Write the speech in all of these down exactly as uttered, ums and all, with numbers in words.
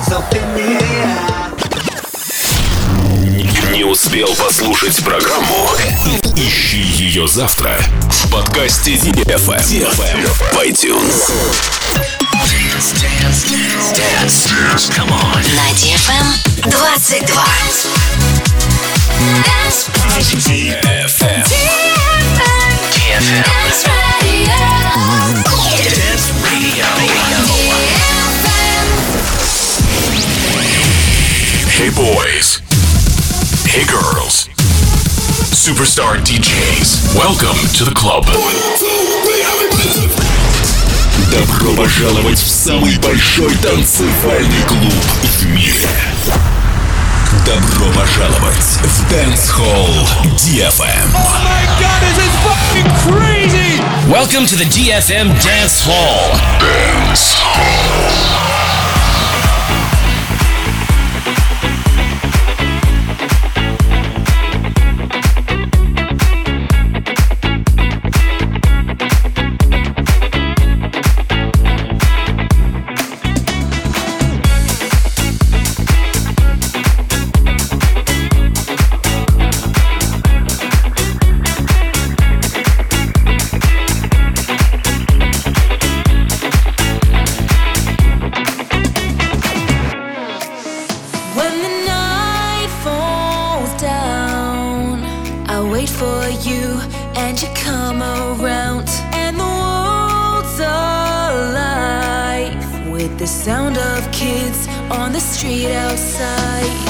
Не успел послушать программу? Ищи ее завтра в подкасте ди эф эм в iTunes. Dance, dance, dance, dance, come on. На ди эф эм двадцать два. ди эф эм. ди эф эм. Dance Radio. Dance Radio. Hey boys. Hey girls. Superstar ди джейс. Welcome to the club. Добро пожаловать в самый большой танцевальный клуб в мире. Добро пожаловать в Dance Hall ди эф эм. Oh my God, this is fucking crazy! Welcome to the ди эф эм Dance Hall. Dance Hall. Street outside.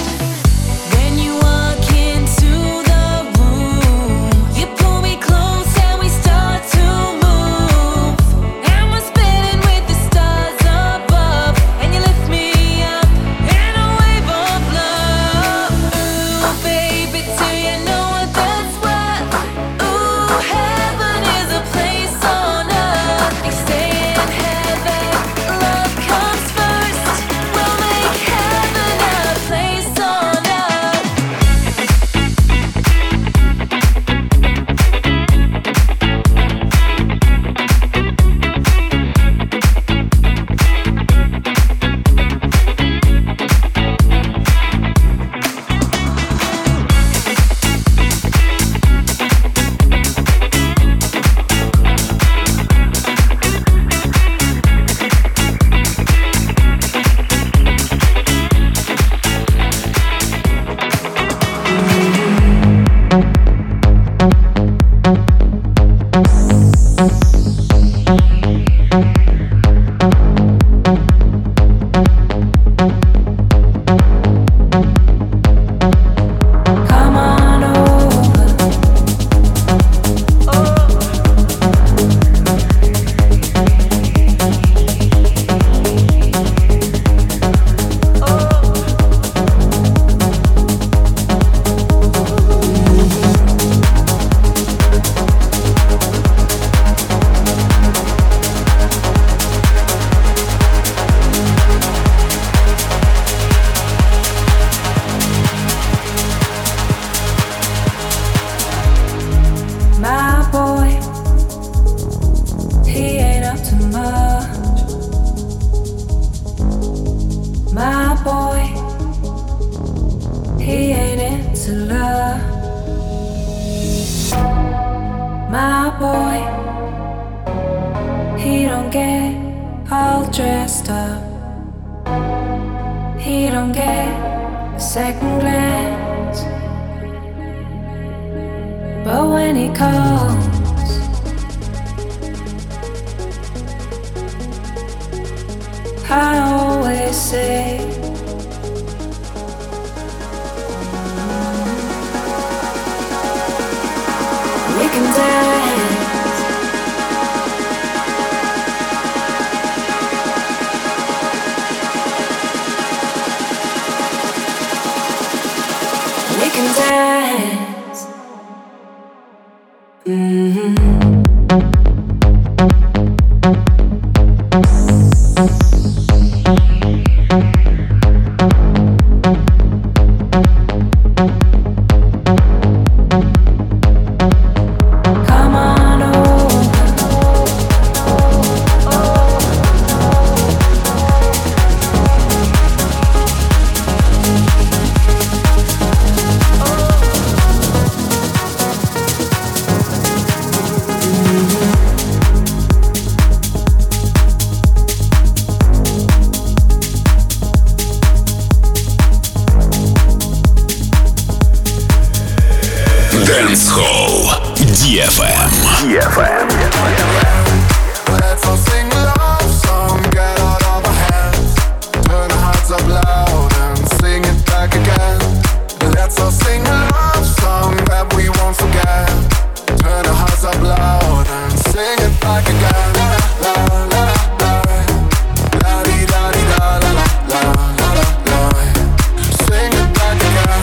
ди эф эм. ди эф эм. Let's all sing a love song, get out of our hands. Turn our hearts up loud and sing it back again. Let's all sing a love song that we won't forget. Turn our hearts up loud and sing it back again. La la la la, la di da di da la la la la la. Sing it back again.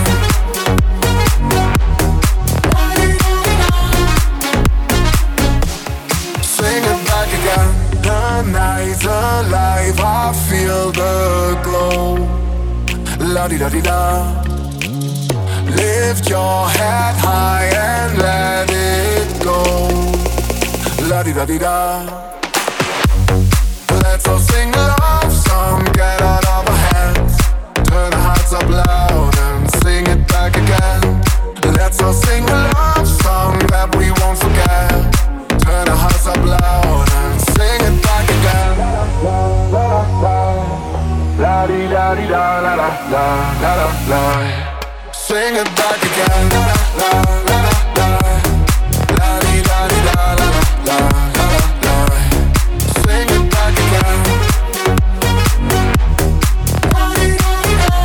La di da di da. Sing it back again. The night's alive, I feel the glow. La di da di da. Lift your head high and let it go. La-di-da-di-da. Let's all sing a love song, get out of our hands. Turn our hearts up loud and sing it back again. Let's all sing a love song that we won't forget. Turn our hearts up loud and sing it back again. La-di-da-di-da, la-la-la-la-la-la. Sing it back again. La la la la la. La di da di da la la la la la. Sing it back again. La di da di da.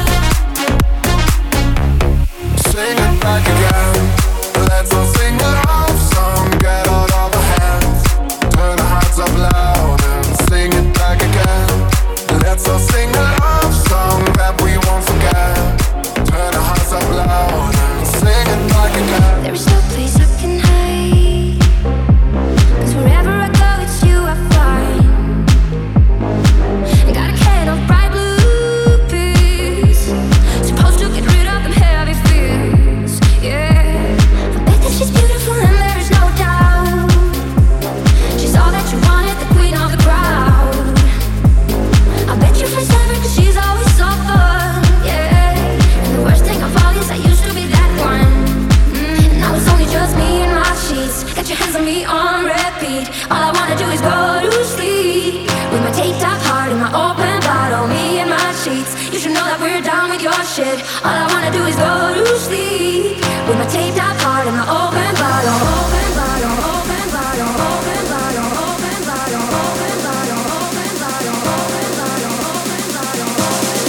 Sing it back again. Let's all sing a love song, get out of our hands. Turn our hearts up loud and sing it back again. Let's all sing a love song that we won't forget. Turn our hearts up loud and sing it back again. There is no place I can hide, 'cause wherever I go it's you I find. I got a can of bright blue pills, supposed to get rid of them heavy fears. Yeah, I bet that she's beautiful and there is no doubt. She's all that you wanted, the queen of the crowd. I bet your friends love her 'cause she's always so fun. Yeah, and the worst thing of all is I used to be that one. Mm, now it's only just me and my sheets. Got your hands on me on repeat. All I wanna do is go to sleep with my taped up heart and my open bottle. Me and my sheets. You should know that we're down with your shit. All I wanna do is go to sleep with my taped up heart and my open bottle. Open bottle, open bottle, open bottle, open bottle, open bottle, open bottle, open bottle, open bottle, open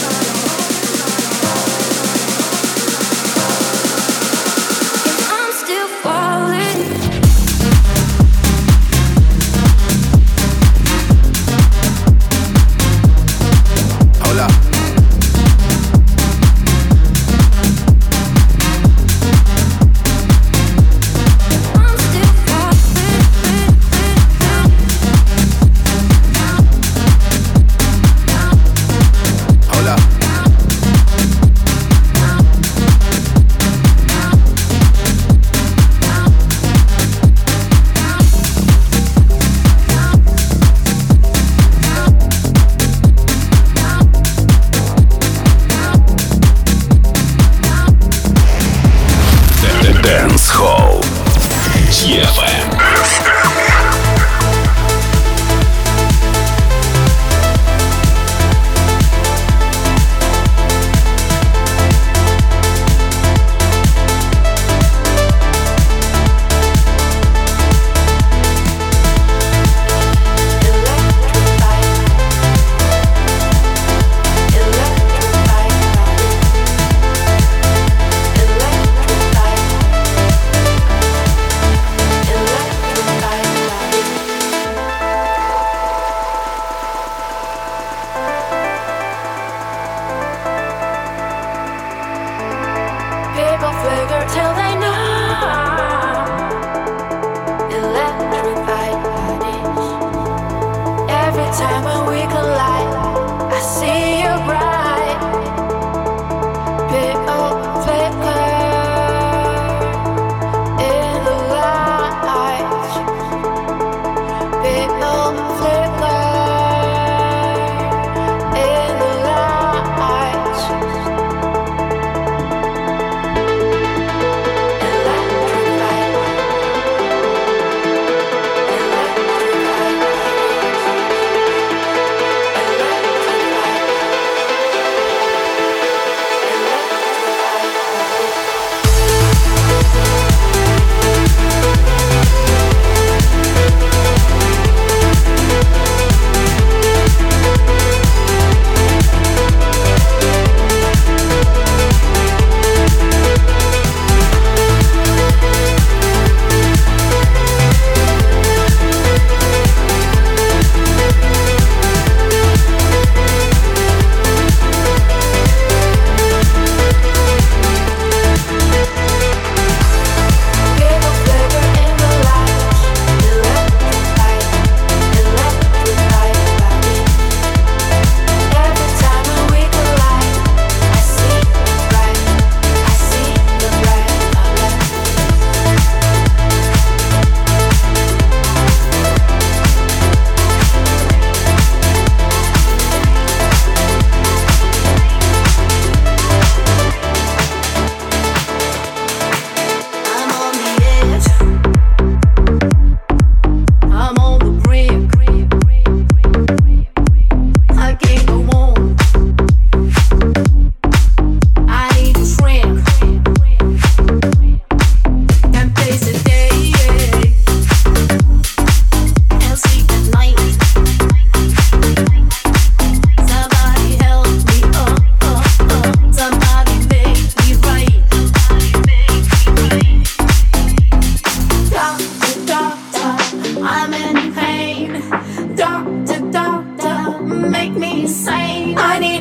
bottle. I'm still falling. Hold up.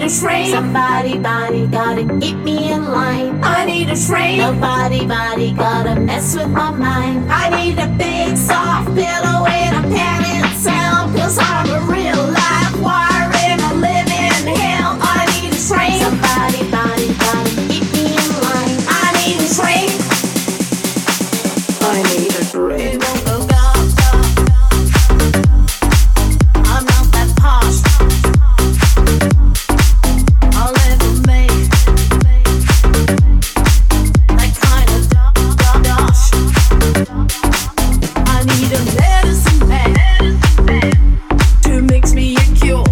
shrink. Somebody, body, gotta keep me in line. I need a shrink. Nobody, body, gotta mess with my mind. I need a big soft pillow and a padded cell, 'cause I'm a real live wire in a living hell. I need a shrink. Somebody, body, gotta keep me in line. I need a shrink. I need a drink. I'm not that posh. I'll never make that kind of dosh. I need a medicine man to mix me a cure.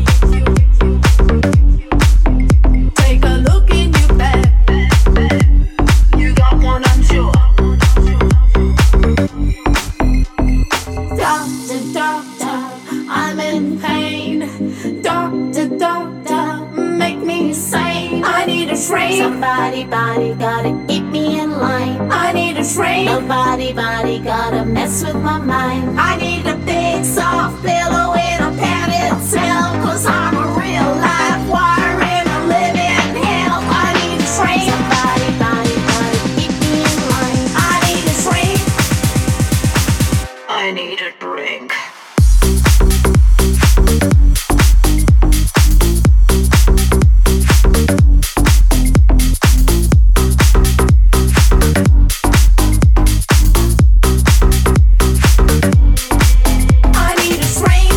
Take a look in your bag. You got one, I'm sure. Doctor, doctor, I'm in pain. Doctor, doctor, make me sane. I need a shrink. Somebody, body, gotta keep me in line. I need a shrink. Nobody, body, gotta mess with my mind. I need a big soft pillow in a padded cell, 'cause I'm a real live wire in a living hell. I need a shrink. Somebody, body, gotta keep me in line. I need a shrink. I need a drink. I need a shrink.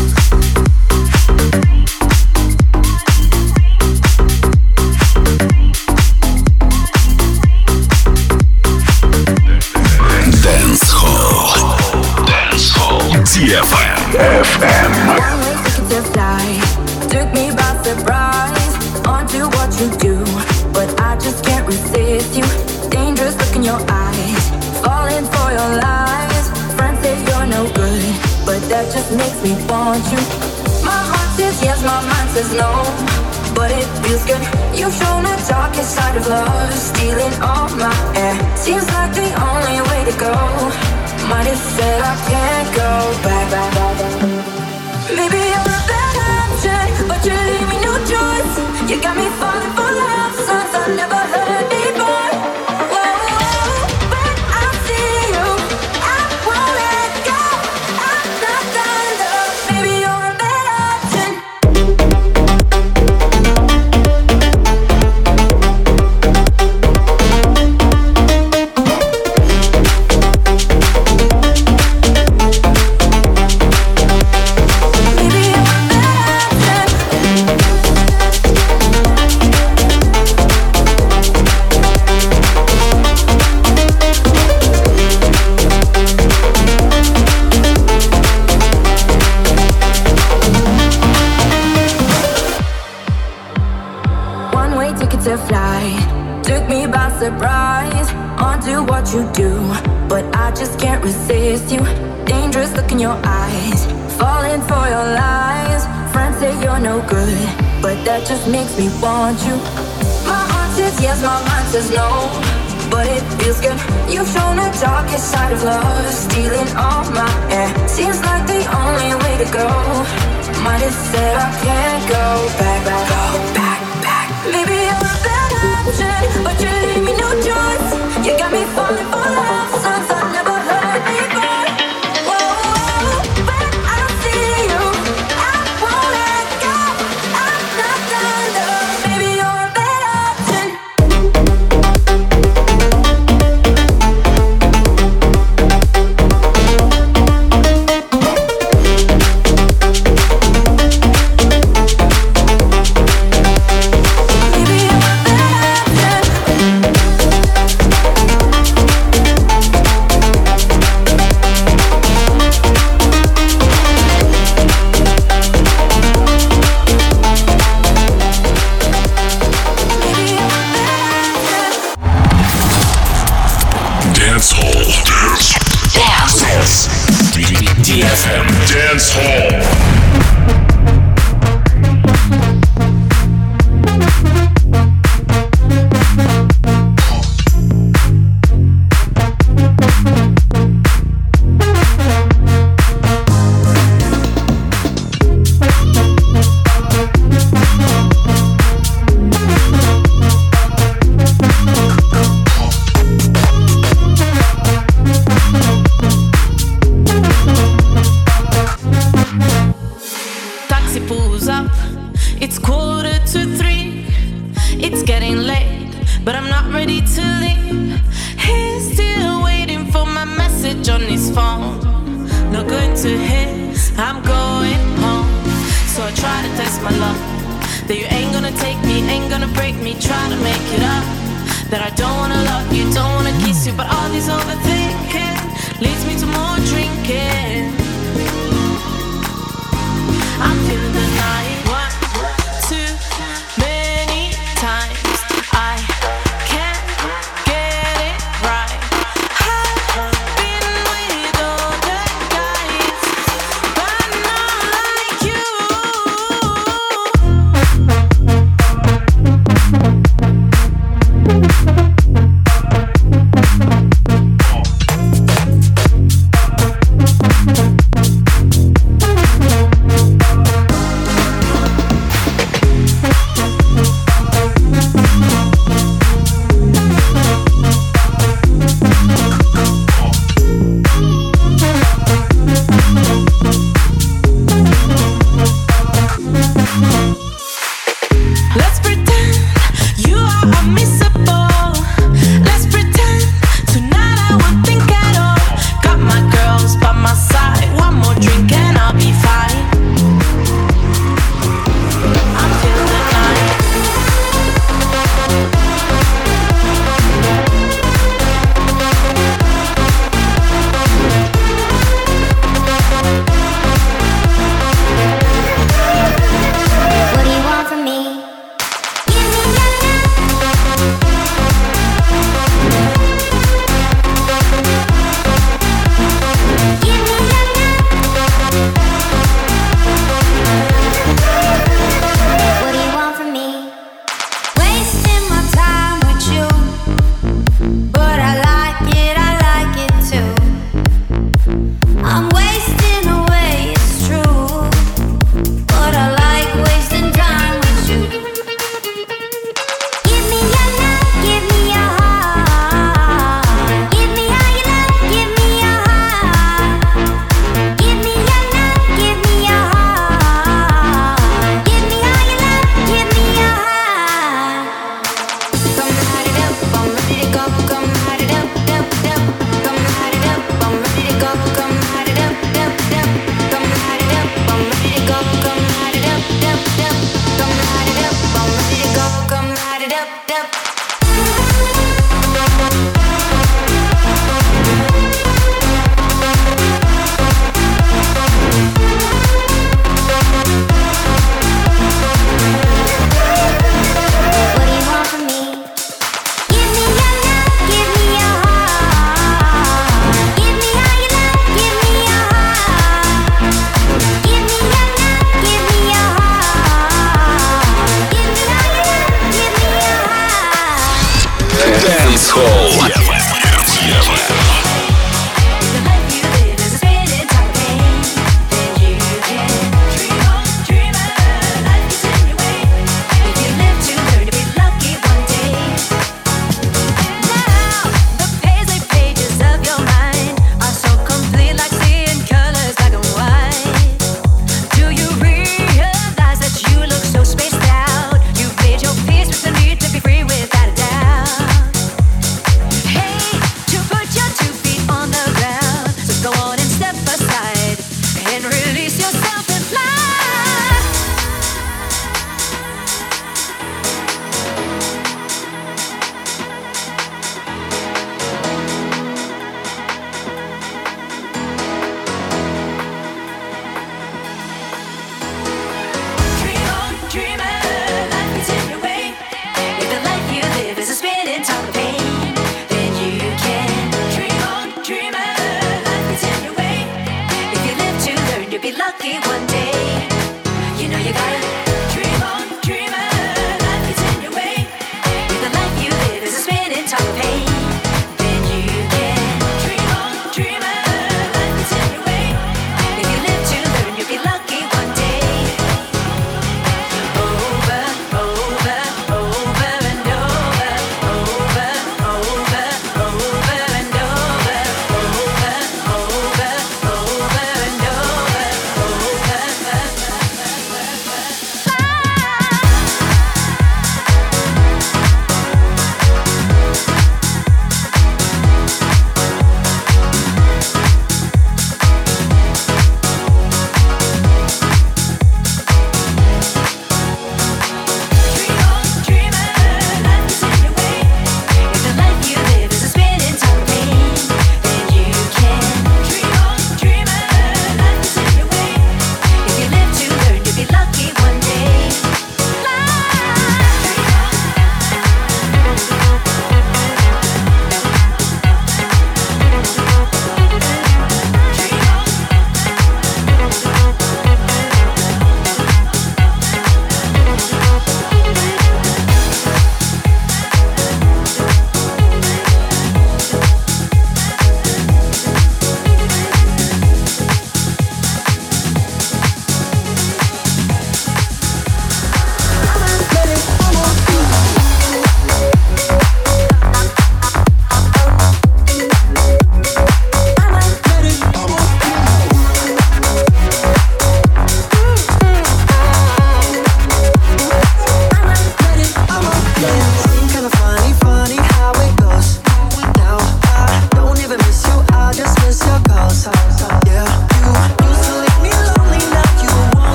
Dance Hall. Dance Hall. ди эф эм. One way ticket to fly took me by surprise onto what you do, but I just can't resist you. Dangerous look in your eyes, falling for your lies. Friends say you're no good, but that just makes me want you. My heart says yes, my mind says no, but it feels good. You've shown the darkest side of love, stealing all my air. Seems like the only way to go. Might have said I can't go back, back, back, back. Maybe you're a bad option, but you leave me no choice. You got me falling for love songs I never heard before. Whoa, when I see you, I won't let go. I'm not done, love. Maybe you're a bad option. Maybe you're a bad option. One way ticket to fly took me by surprise onto what you do, but I just can't resist you. Dangerous look in your eyes, falling for your lies. Friends say you're no good, but that just makes me want you. My heart says yes, my mind says no, but it feels good. You've shown the darkest side of love, stealing all my air. Seems like the only way to go. Might have said I can't go back, back, go back, back. Maybe you're a bad option, but you leave me no choice. You got me falling for love songs I never heard before. Whoa, when I see you, I won't let go. I'm not done, love. Maybe you're a bad option. Maybe you're a bad Dance Hall. Dance. ди эф эм Dance Hall. quarter to three. It's getting late, but I'm not ready to leave. He's still waiting for my message on his phone. Not going to his, I'm going home. So I try to test my luck, that you ain't gonna take me, ain't gonna break me. Try to make it up, that I don't wanna love you, don't wanna kiss you. But all this overthinking leads me to more drinking. I'm feeling the night, one, too many times. I can't get it right. I've been with older guys, but not like you. Let's pretend you are unmissable. Let's pretend tonight I won't think at all. Got my girls by my side. One more drink and I'll be fine. I'm feeling the night. What do you want from me? Give me your love. Give me your love. What do you want from me? Wasting my time with you, but I like it, I like it too. I'm wasting away, it's true, but I like wasting time with you. Give me your love, give me your heart. Give me all your love, give me your heart. Give me your love, give me your heart. Give me all your love, give me your heart. Come light it up, I'm ready to go. Come light it up, up, up. Come light it up, I'm ready to go. Come light it up, up, up. Come light it up, I'm ready to go. Come light it up, up, up. Come light it up, I'm ready to go. Come light it up, up. What do you want from me? Give me your love, give me your heart. Give me all your love, give me your heart. Give me your love, give me your heart. Give me all your love, give me your heart. Dance Hall. The life you live is a spinning top game, and you can dream on, dream on. Life gets in your way. If you live to learn to be lucky one day. Now the paisley pages of your mind are so complete, like seeing colors black and white. Do you realize that you look so spaced out? You've made your peace with the need to be free without a doubt. Hey,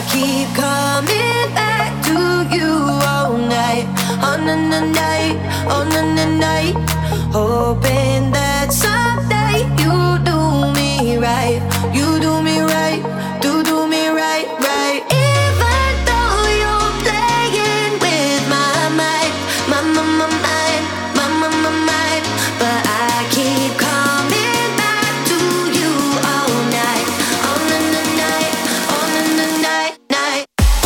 I keep coming back to you all night, on the night, on the night, hoping that someday you do me right, you do me right, do do me right, right. Even though you're playing with my mind, my my my mind, my my my mind, but I keep coming back to you all night, on the night, on the night, night.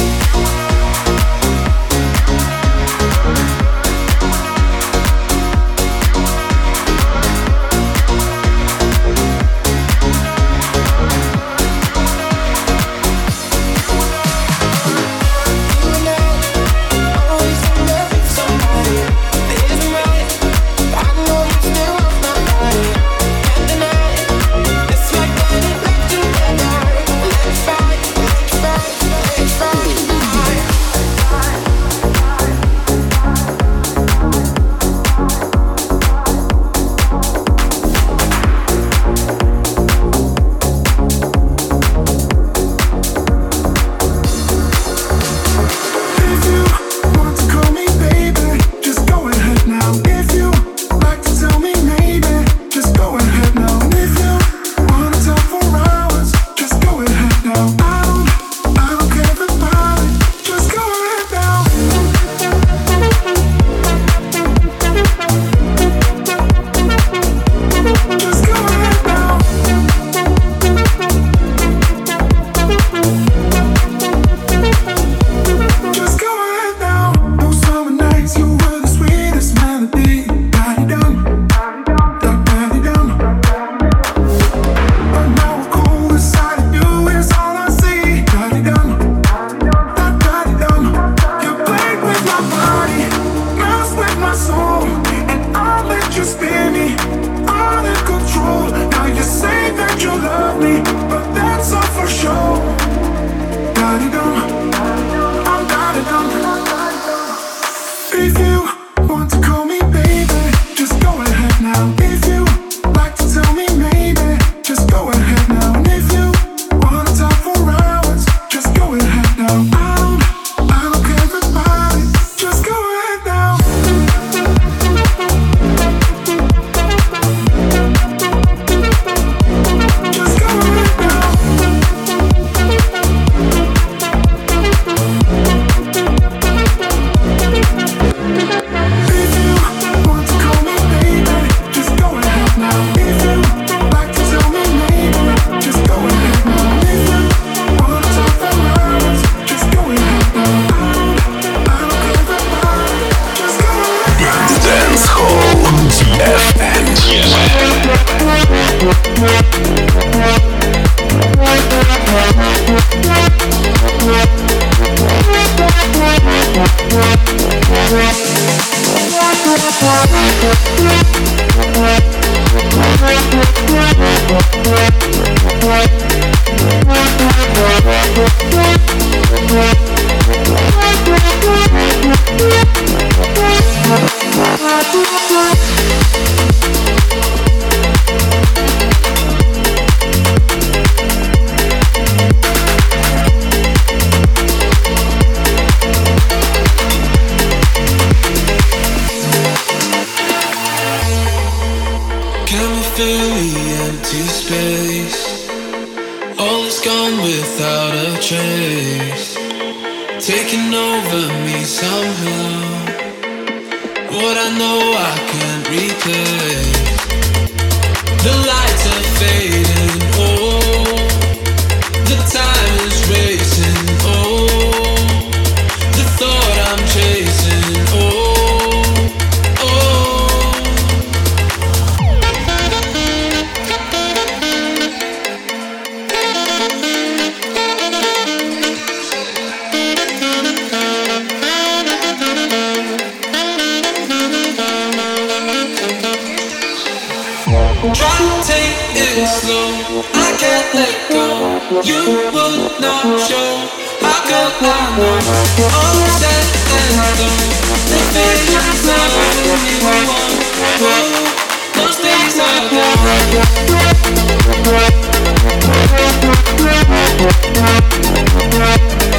Try to take it slow, I can't let go. You would not show, how could I know? All said and done, the vision's not what we want. Whoa, those days are gone.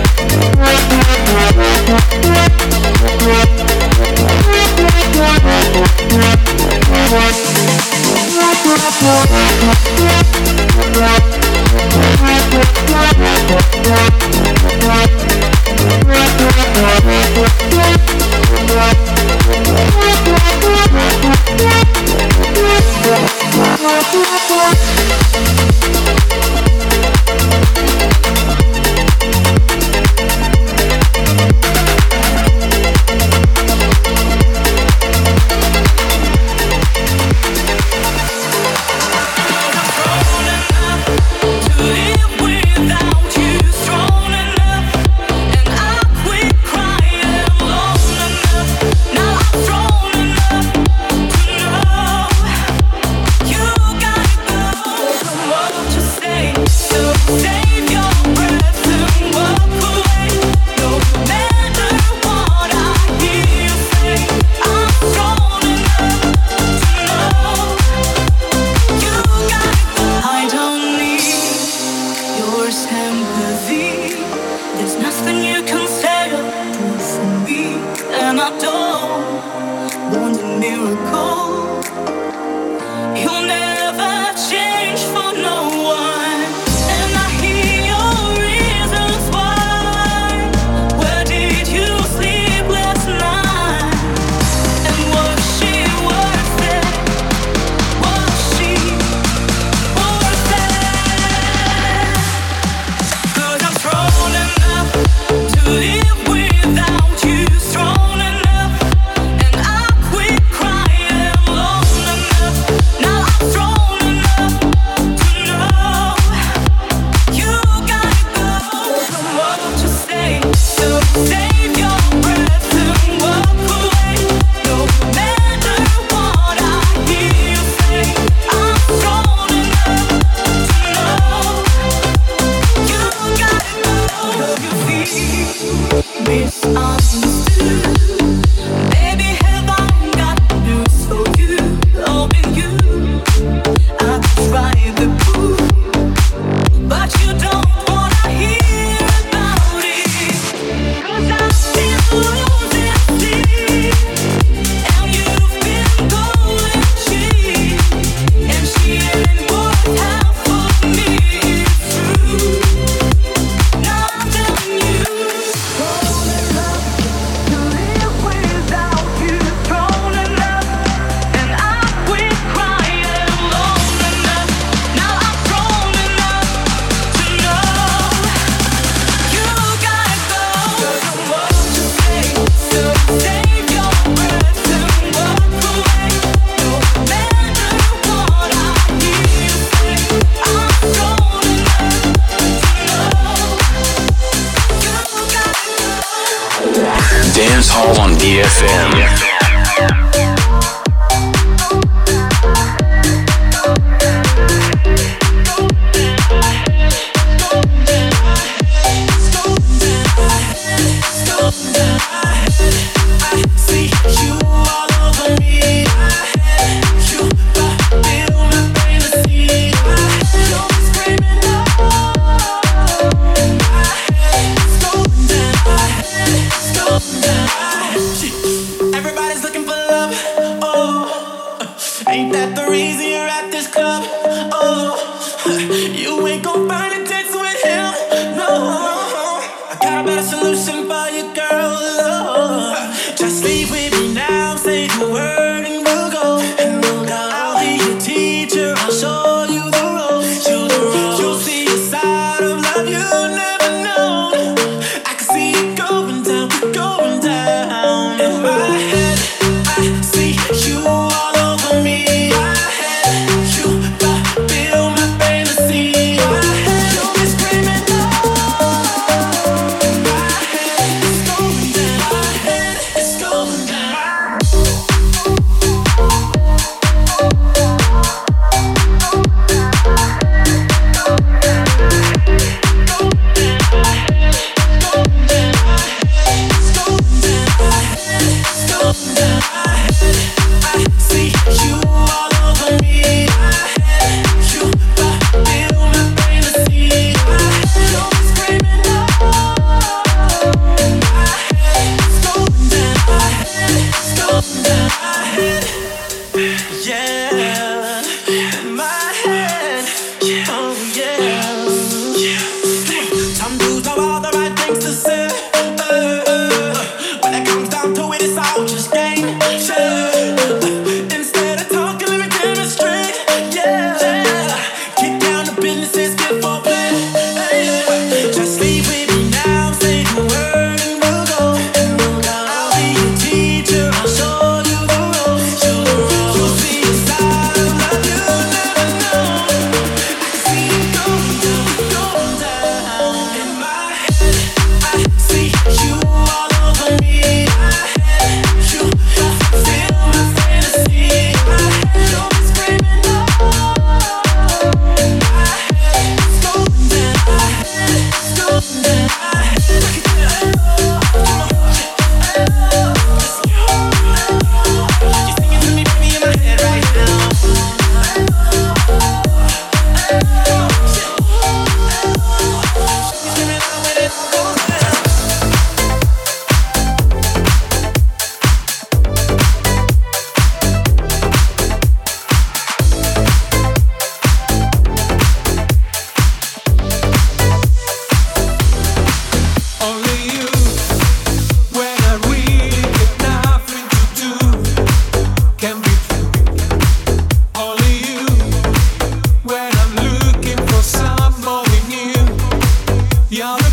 Dance Hall on D F M. Going down.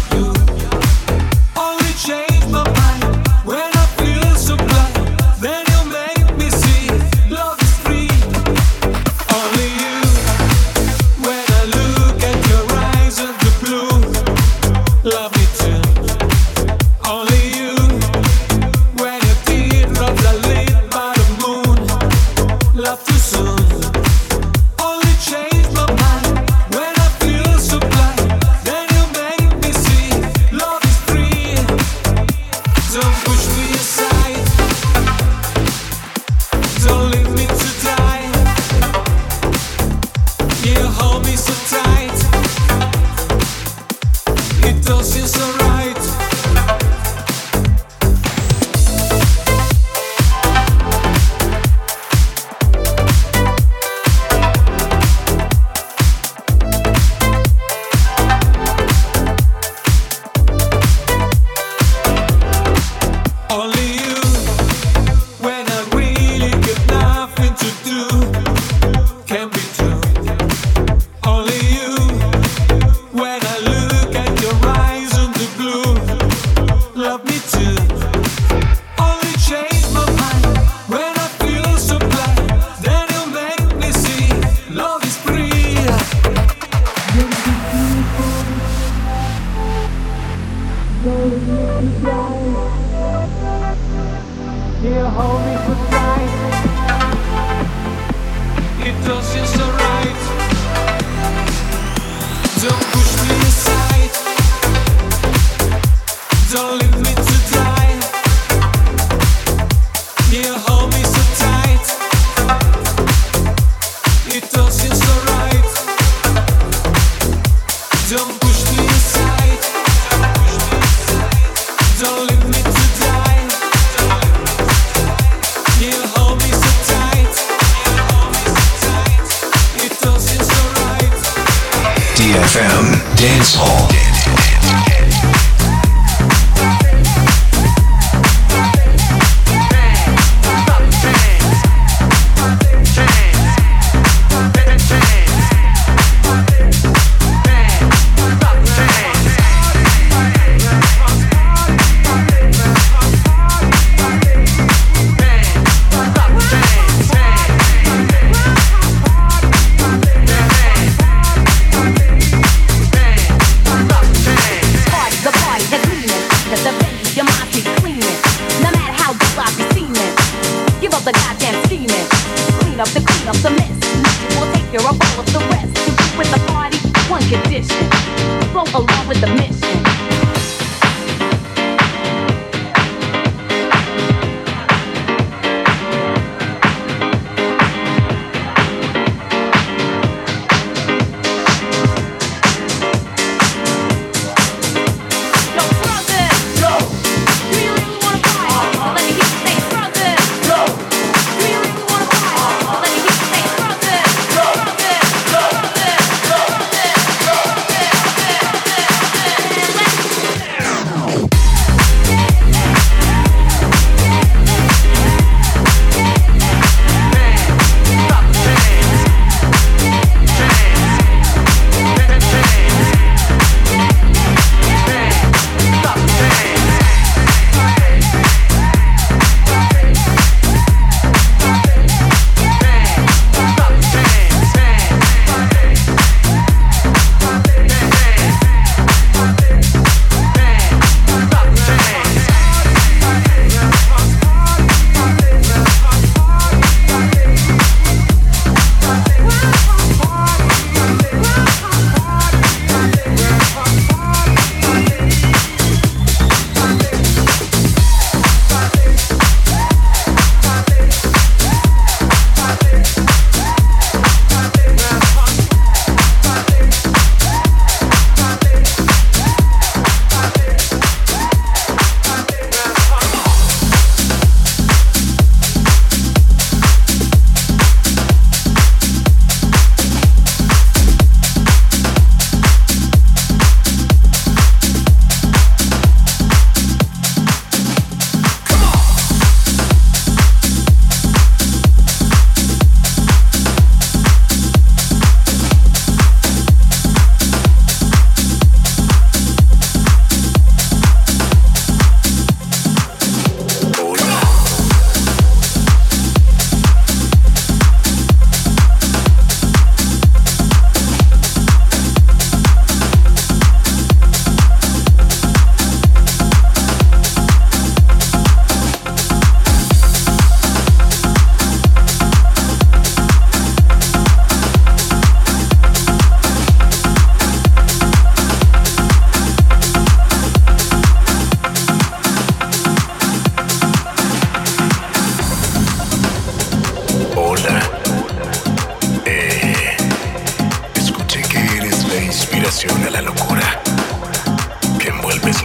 Bang,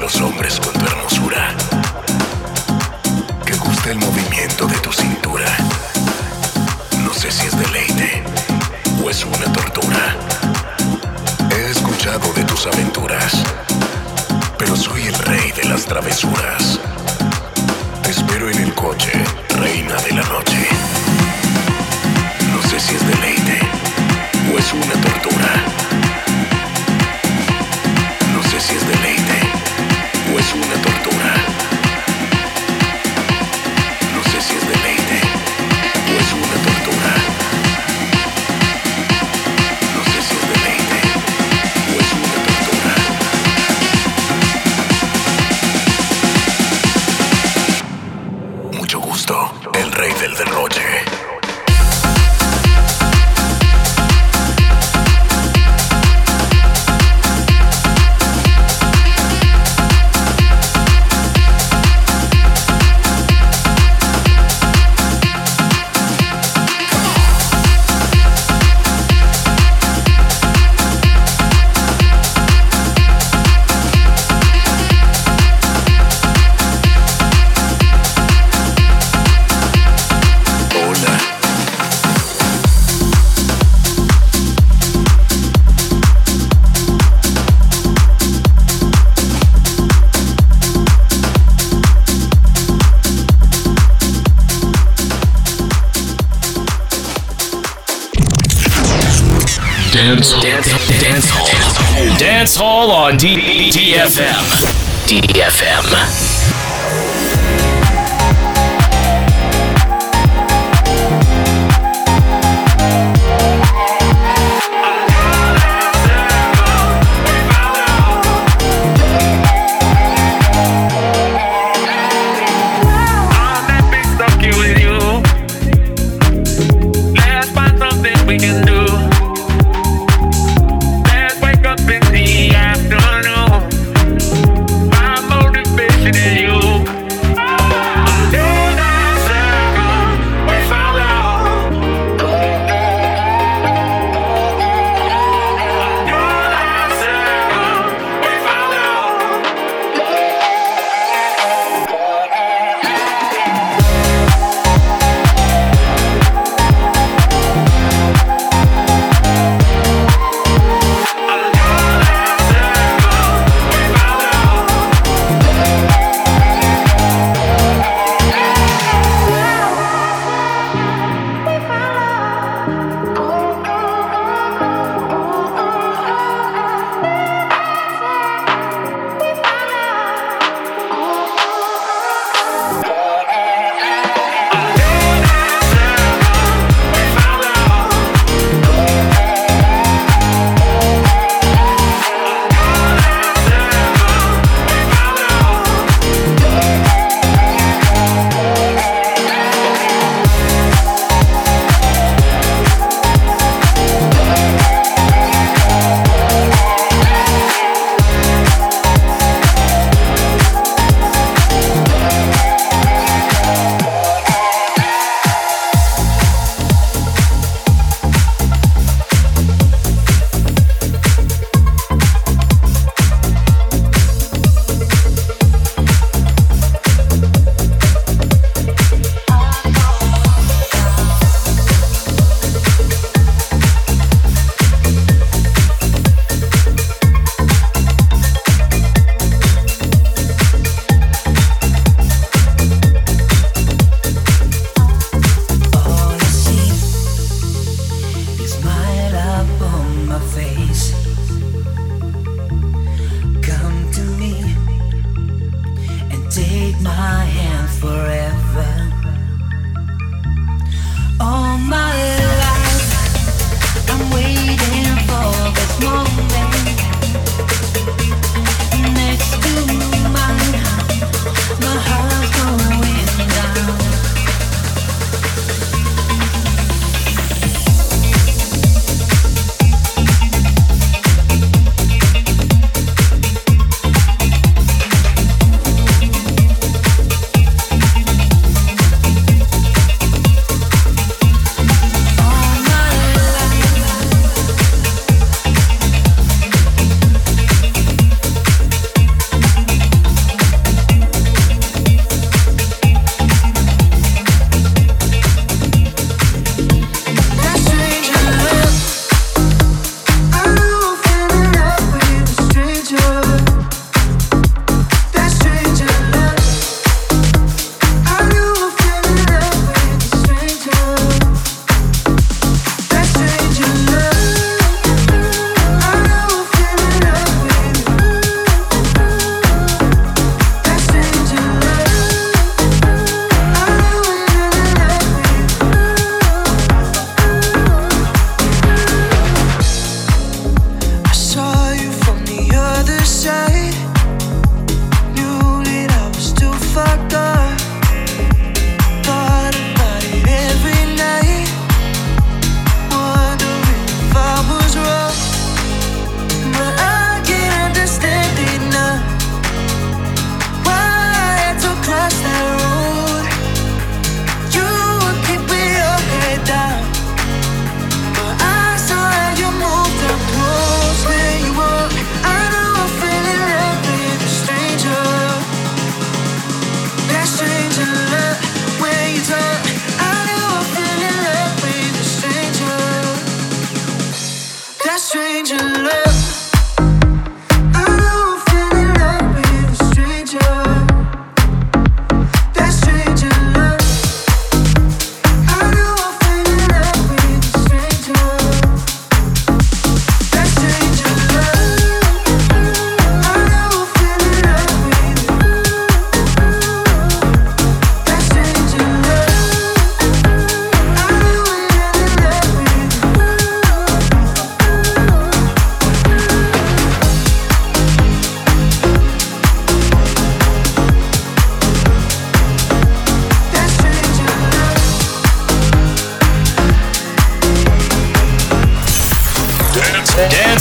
los hombres con tu hermosura, que gusta el movimiento de tu cintura. No sé si es deleite o es una tortura. He escuchado de tus aventuras, pero soy el rey de las travesuras. Te espero en el coche, reina de la noche. No sé si es deleite o es una tortura. No sé si es deleite o es una tortura. No sé si es deleite o es una tortura. No sé si es deleite o es una tortura. Mucho gusto, el rey del derroche. Dance, dance, dance hall. Dance hall on D- DFM. D F M.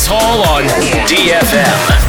Dance Hall on D F M.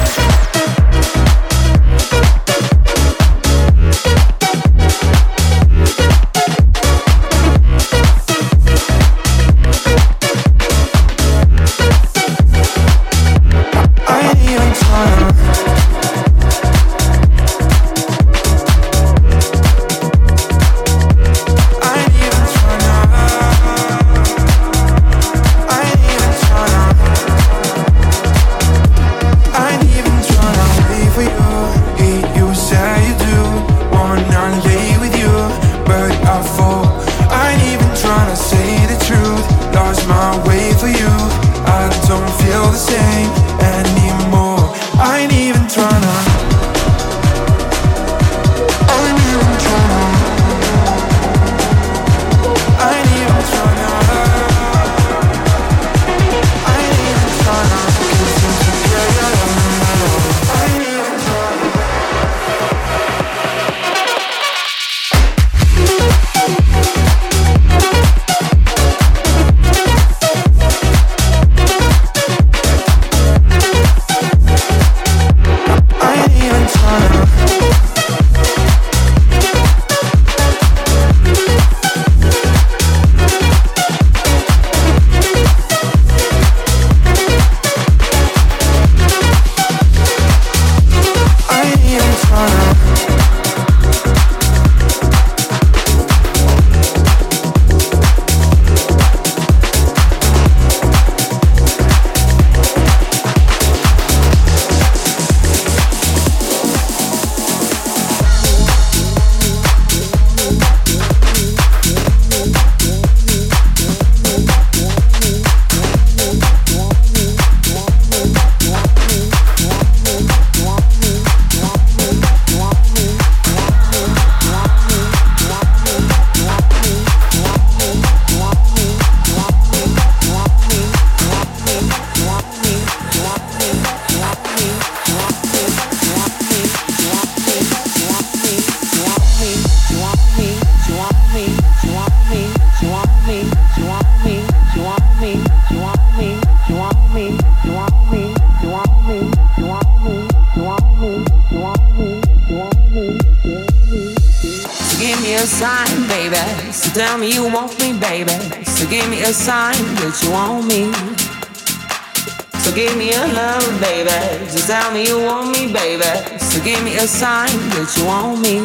A sign that you want me.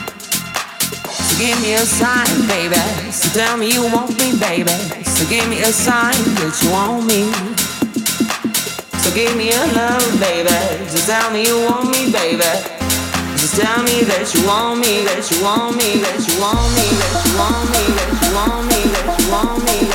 So give me a sign, baby. So tell me you want me, baby. So give me a sign that you want me. So give me a love, baby. Just tell me you want me, baby. Just tell me that you want me, that you want me, that you want me, that you want me, that you want me, that you want me.